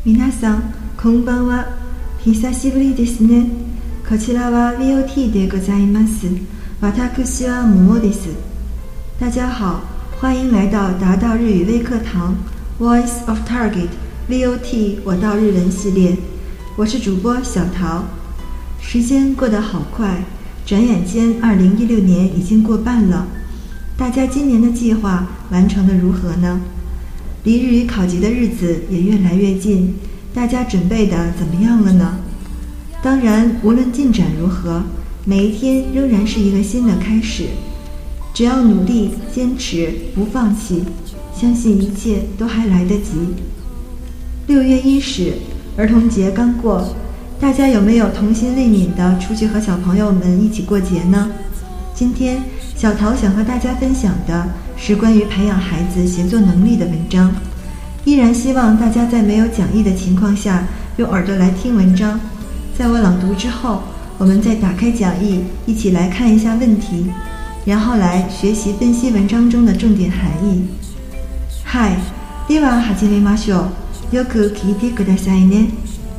皆さん、こんばんは。久しぶりですね。こちらは VOT でございます。私は桃です。大家好，欢迎来到达到日语微课堂 Voice of Target VOT 我到日文系列。我是主播小桃。时间过得好快，转眼间2016年已经过半了。大家今年的计划完成得如何呢？离日语考级的日子也越来越近，大家准备的怎么样了呢？当然，无论进展如何，每一天仍然是一个新的开始。只要努力、坚持、不放弃，相信一切都还来得及。6月伊始，儿童节刚过，大家有没有童心未泯的出去和小朋友们一起过节呢？今天小桃想和大家分享的是关于培养孩子协作能力的文章。依然希望大家在没有讲义的情况下用耳朵来听文章，在我朗读之后，我们再打开讲义，一起来看一下问题，然后来学习分析文章中的重点含义。はい、では始めましょう。よく聞いてくださいね。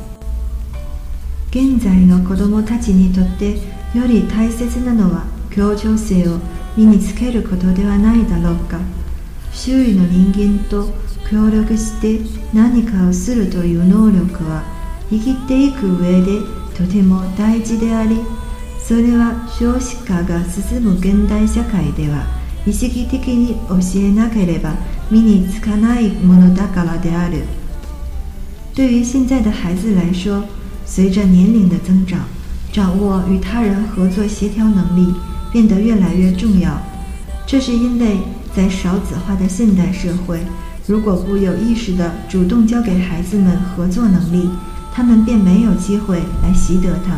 現在の子どもたちにとってより大切なのは協調性を身につけることではないだろうか。周囲の人間と協力して何かをするという能力は生きていく上でとても大事であり、それは少子化が進む現代社会では意識的に教えなければ身につかないものだからである。对于现在的孩子来说，随着年龄的增长，掌握与他人合作协调能力变得越来越重要。这是因为在少子化的现代社会，如果不有意识地主动教给孩子们合作能力，他们便没有机会来习得它。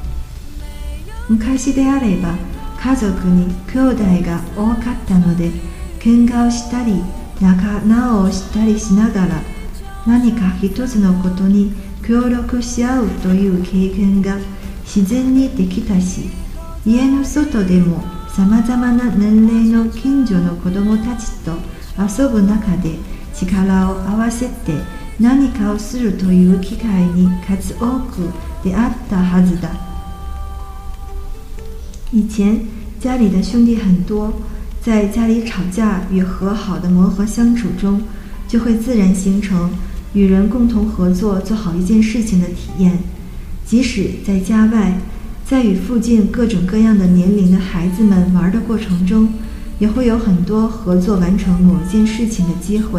昔であれば、家族に兄弟が多かったので、喧嘩をしたり、仲直をしたりしながら、何か一つのことに協力し合うという経験が自然にできたし、家の外でもさまざまな年齢の近所の子どもたちと遊ぶ中で力を合わせて何かをするという機会に数多く出会ったはずだ。以前家里的兄弟很多，在家里吵架与和好的磨合相处中，就会自然形成与人共同合作做好一件事情的体验。即使在家外，在与附近各种各样的年龄的孩子们玩的过程中，也会有很多合作完成某件事情的机会。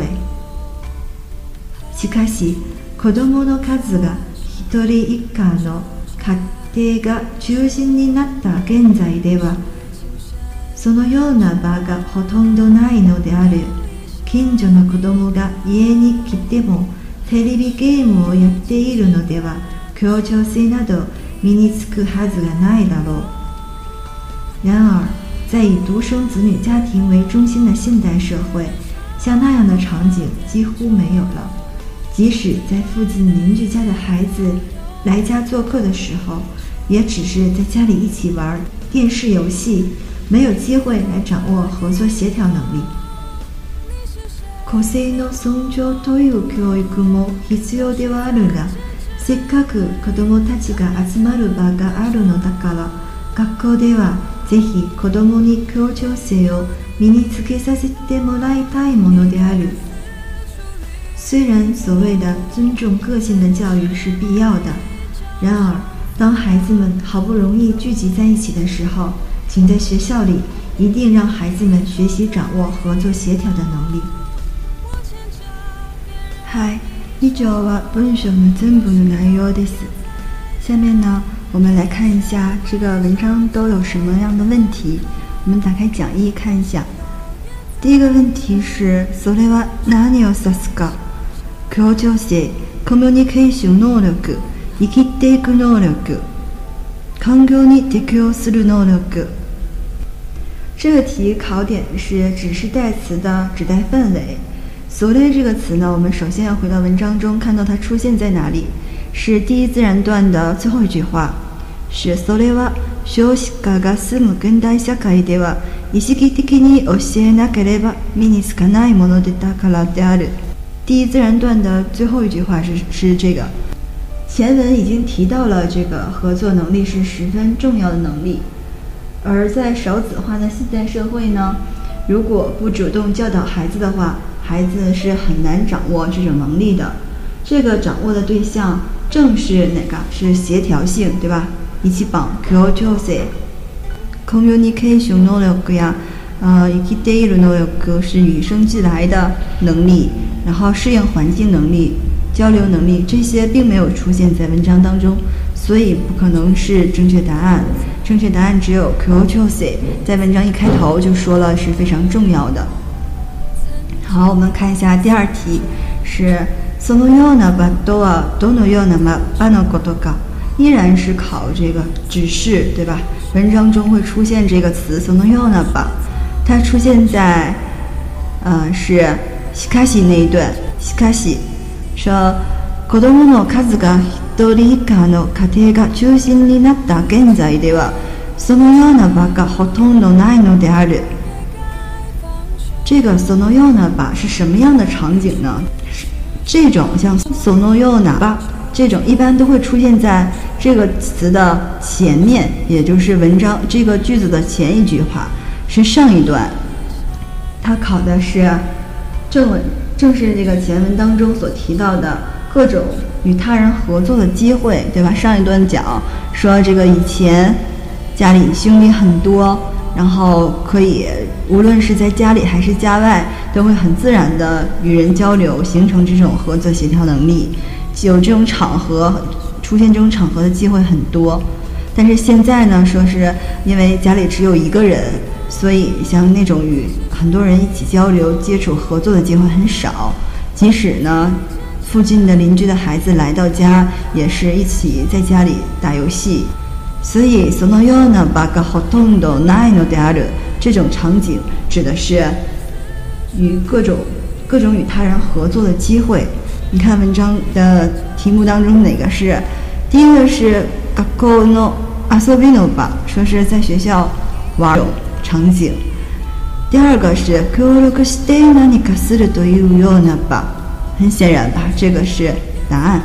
しかし、子供の数が一人一家の家庭が中心になった現在では、そのような場がほとんどないのである。近所の子供が家に来てもテレビゲームをやっているのでは、協調性など身につくはずがないだろう。然而，在以独生子女家庭为中心的现代社会，像那样的场景几乎没有了。即使在附近邻居家的孩子来家做客的时候，也只是在家里一起玩电视游戏，没有机会来掌握合作协调能力。個性の尊重という教育も必要ではあるが、せっかく子どもたちが集まる場があるのだから、学校ではぜひ子どもに協調性を身につけさせてもらいたいものである。虽然所谓的尊重个性的教育是必要的，然而当孩子们好不容易聚集在一起的时候，请在学校里一定让孩子们学习掌握合作协调的能力。はい、以上は文章の全部の内容です。下面呢，我们来看一下这个文章都有什么样的问题。我们打开讲义看一下。第一个问题是、それは何を指すか？協調性、コミュニケーション能力、生きていく能力、環境に適応する能力。这个题考点是指示代词的指代范围。それ这个词呢，我们首先要回到文章中，看到它出现在哪里，是第一自然段的最后一句话，是それは少子化が進む現代社会では意識的に教えなければ身につかないものだからである。 第一自然段的最后一句话是这个。前文已经提到了这个合作能力是十分重要的能力，而在少子化的现代社会呢，如果不主动教导孩子的话，孩子是很难掌握这种能力的。这个掌握的对象正是哪个？是协调性，对吧？一起绑 communication能力呀，生きている能力是与生俱来的能力，然后适应环境能力、交流能力，这些并没有出现在文章当中，所以不可能是正确答案。正确答案只有 communication， 在文章一开头就说了是非常重要的。好，我们看一下第二题，是そのような場とはどのような場のことか，依然是考这个指示，对吧？文章中会出现这个词そのような場，它出现在是しかし那一段。しかし说子供の数が一人以下の家庭が中心になった現在ではそのような場がほとんどないのである。这个そのような場是什么样的场景呢？这种像そのような場这种一般都会出现在这个词的前面，也就是文章这个句子的前一句话，是上一段。它考的是正文，正是这个前文当中所提到的各种与他人合作的机会，对吧？上一段讲说这个以前家里兄弟很多，然后可以无论是在家里还是家外，都会很自然的与人交流，形成这种合作协调能力。有这种场合出现这种场合的机会很多，但是现在呢，说是因为家里只有一个人，所以像那种与很多人一起交流、接触、合作的机会很少。即使呢，附近的邻居的孩子来到家，也是一起在家里打游戏。所以そのような場がほとんどないのである，这种场景指的是与各种与他人合作的机会。你看文章的题目当中哪个是？第一个是学校の遊びの場，说是在学校玩场景。第二个是協力して何かするというような場，很显然吧，这个是答案。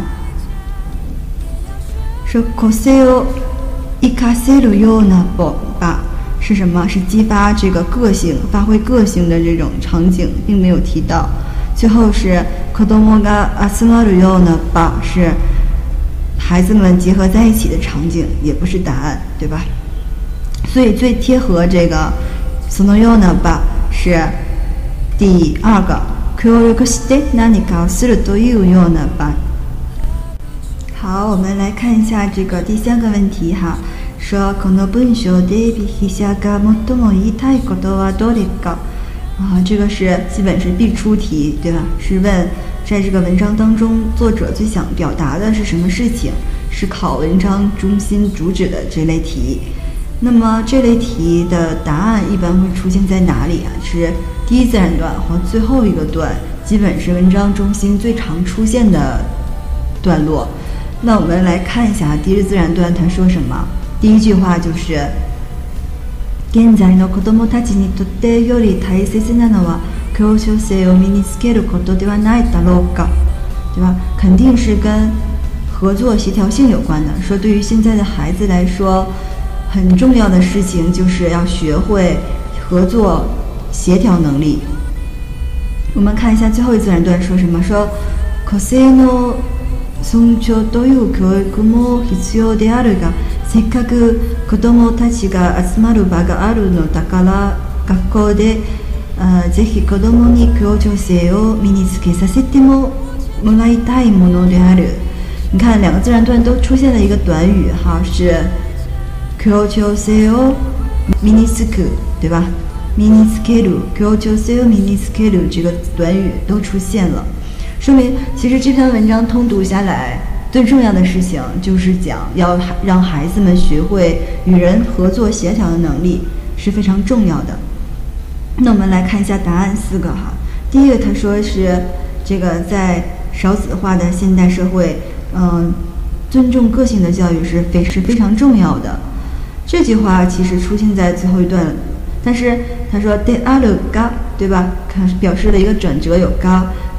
说個性を生かせるような場是什么？是激发这个个性、发挥个性的这种场景，并没有提到。最后是子供が集まるような場，是孩子们结合在一起的场景，也不是答案，对吧？所以最贴合这个そのような場是第二个協力して何かをするというような場。好，我们来看一下这个第三个问题哈，说この文章で筆者が最も言いたいことはどれか。这个是基本是必出题，对吧？是问在这个文章当中，作者最想表达的是什么事情，是考文章中心主旨的这类题。那么这类题的答案一般会出现在哪里啊？是第一自然段和最后一个段，基本是文章中心最常出现的段落。那我们来看一下第一自然段他说什么。第一句话就是現在の子供たちにとってより大切なのは協調性を身につけることではないだろうか，对吧？肯定是跟合作协调性有关的。说对于现在的孩子来說，很重要的事情就是要学会合作协調能力。我们看一下最后一自然段说什么，说個性の尊重という教育も必要であるが、せっかく子どもたちが集まる場があるのだから学校でぜひ子どもに協調性を身につけさせてもらいたいものである。你看两个自然段都出现了一个短语哈，是協調性を身につく，对吧？身につける，協調性を身につける这个短语都出现了，说明其实这篇文章通读下来，最重要的事情就是讲要让孩子们学会与人合作协调的能力是非常重要的。那我们来看一下答案4个哈。第一个他说是这个在少子化的现代社会，尊重个性的教育是非常重要的。这句话其实出现在最后一段，但是他说であるが，对吧？表示了一个转折有が，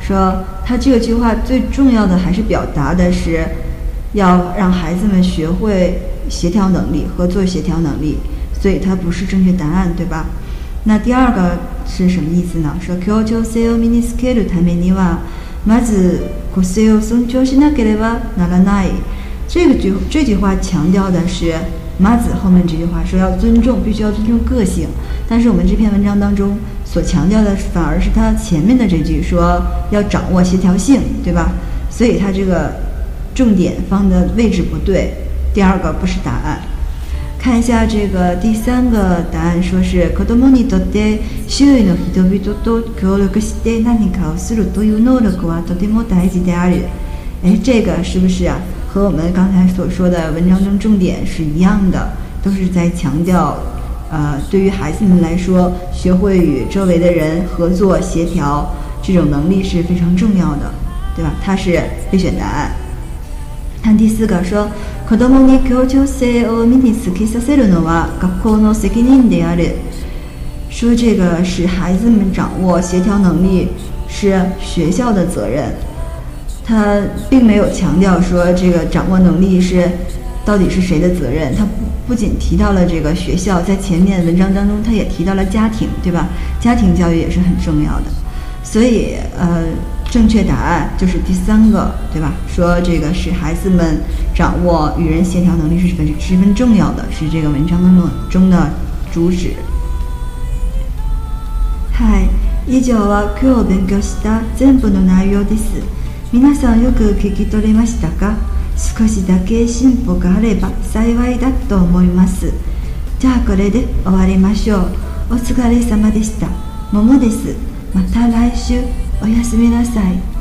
说他这个句话最重要的还是表达的是要让孩子们学会协调能力、合作协调能力，所以它不是正确答案，对吧？那第二个是什么意思呢？说協調性を身につけるためにはまず個性を尊重しなければならない。这句话强调的是马子后面这句话说要尊重，必须要尊重个性。但是我们这篇文章当中所强调的反而是他前面的这句说要掌握协调性，对吧？所以他这个重点放的位置不对，第二个不是答案。看一下这个第三个答案，说是子供にとって周囲の人々と協力して何かをするという能力はとても大事である。这个是不是啊？和我们刚才所说的文章中重点是一样的，都是在强调，对于孩子们来说，学会与周围的人合作协调这种能力是非常重要的，对吧？它是备选答案。看第四个说，子供に協調性を身につけさせるのは学校の責任である。说这个使孩子们掌握协调能力是学校的责任。他并没有强调说这个掌握能力是到底是谁的责任，他不仅提到了这个学校，在前面文章当中他也提到了家庭，对吧？家庭教育也是很重要的，所以正确答案就是第三个，对吧？说这个使孩子们掌握与人协调能力是十分重要的，是这个文章当中的主旨。はい、以上は今日勉強した全部の内容です。皆さんよく聞き取れましたか？少しだけ進歩があれば幸いだと思います。じゃあこれで終わりましょう。お疲れ様でした。ももです。また来週。おやすみなさい。